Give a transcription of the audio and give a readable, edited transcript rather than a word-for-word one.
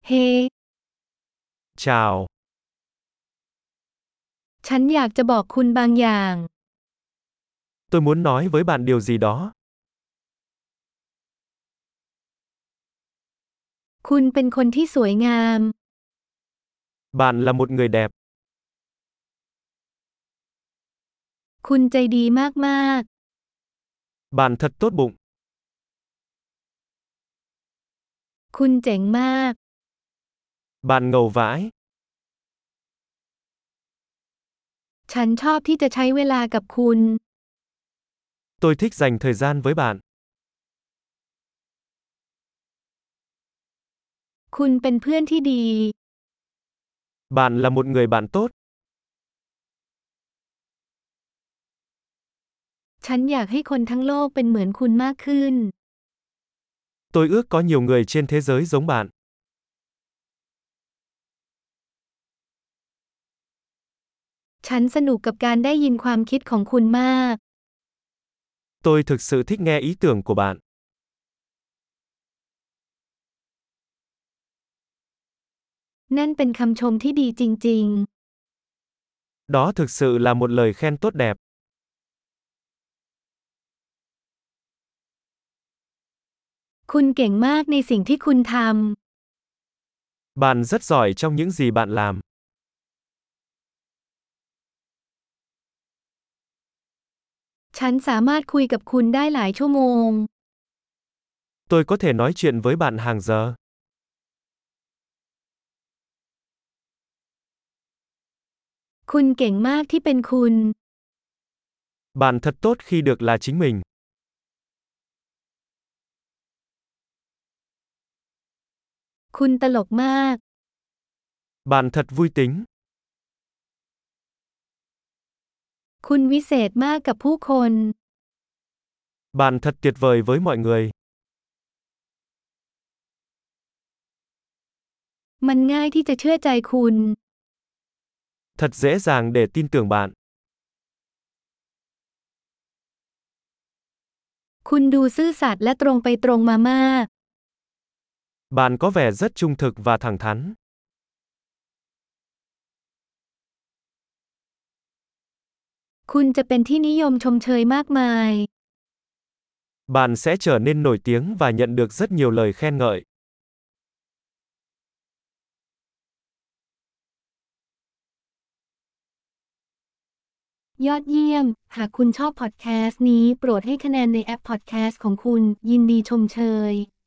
เฮ้ Chào, ฉันอยากจะบอกคุณบางอย่าง tôi muốn nói với bạn điều gì đó. คุณเป็นคนที่สวยงาม Bạn là một người đẹp, คุณใจดีมาก bạn thật tốt bụng, ๆ คุณเจ๋งมาก bạn ngầu vãi. ฉันชอบที่จะใช้เวลากับคุณ Tôi thích dành thời gian với bạn. คุณเป็นเพื่อนที่ดี Bạn là một người bạn tốt. ฉันอยากให้คนทั้งโลกเป็นเหมือนคุณมากขึ้น Tôi ước có nhiều người trên thế giới giống bạn. ฉันสนุกกับการได้ยินความคิดของคุณมาก Tôi thực sự thích nghe ý tưởng của bạn. นั่นเป็นคำชมที่ดีจริง Đó thực sự là một lời khen tốt đẹp. ๆ คุณเก่งมากในสิ่งที่คุณท Bạn rất giỏi trong những gì bạn làm. ำ ฉันสามารถคุยกับคุณได้หลายชั่วโมง Tôi có thể nói chuyện với bạn hàng giờ. คุณเก่งมากที่เป็นคุณ Bạn thật tốt khi được là chính mình. คุณตลกมาก Bạn thật vui tính. คุณวิเศษมากกับผู้คน Bạn thật tuyệt vời với mọi người. มันง่ายที่จะเชื่อใจคุณ Thật dễ dàng để tin tưởng bạn. คุณดูซื่อสัตย์และตรงไปตรงมามาก Bạn có vẻ rất trung thực và thẳng thắn. คุณจะเป็นที่นิยมชมเชยมากมาย Bạn sẽ trở nên nổi tiếng và nhận được rất nhiều lời khen ngợi. ยอดเยี่ยม หากคุณชอบพอดแคสต์นี้โปรดให้คะแนนในแอปพอดแคสต์ของคุณ ยินดีชมเชย